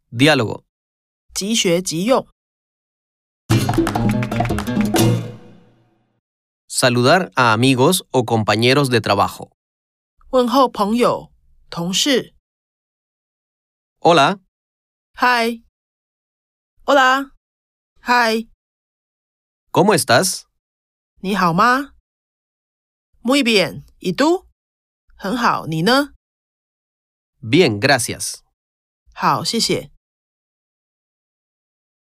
Diálogo. 即学即用。 Saludar a amigos o compañeros de trabajo. 问候朋友、同事。 Hola, Hi. Hola. Hi. ¿cómo estás? 你好吗？ Muy bien. ¿Y tú? 很好，你呢？ Bien, gracias. 好，谢谢。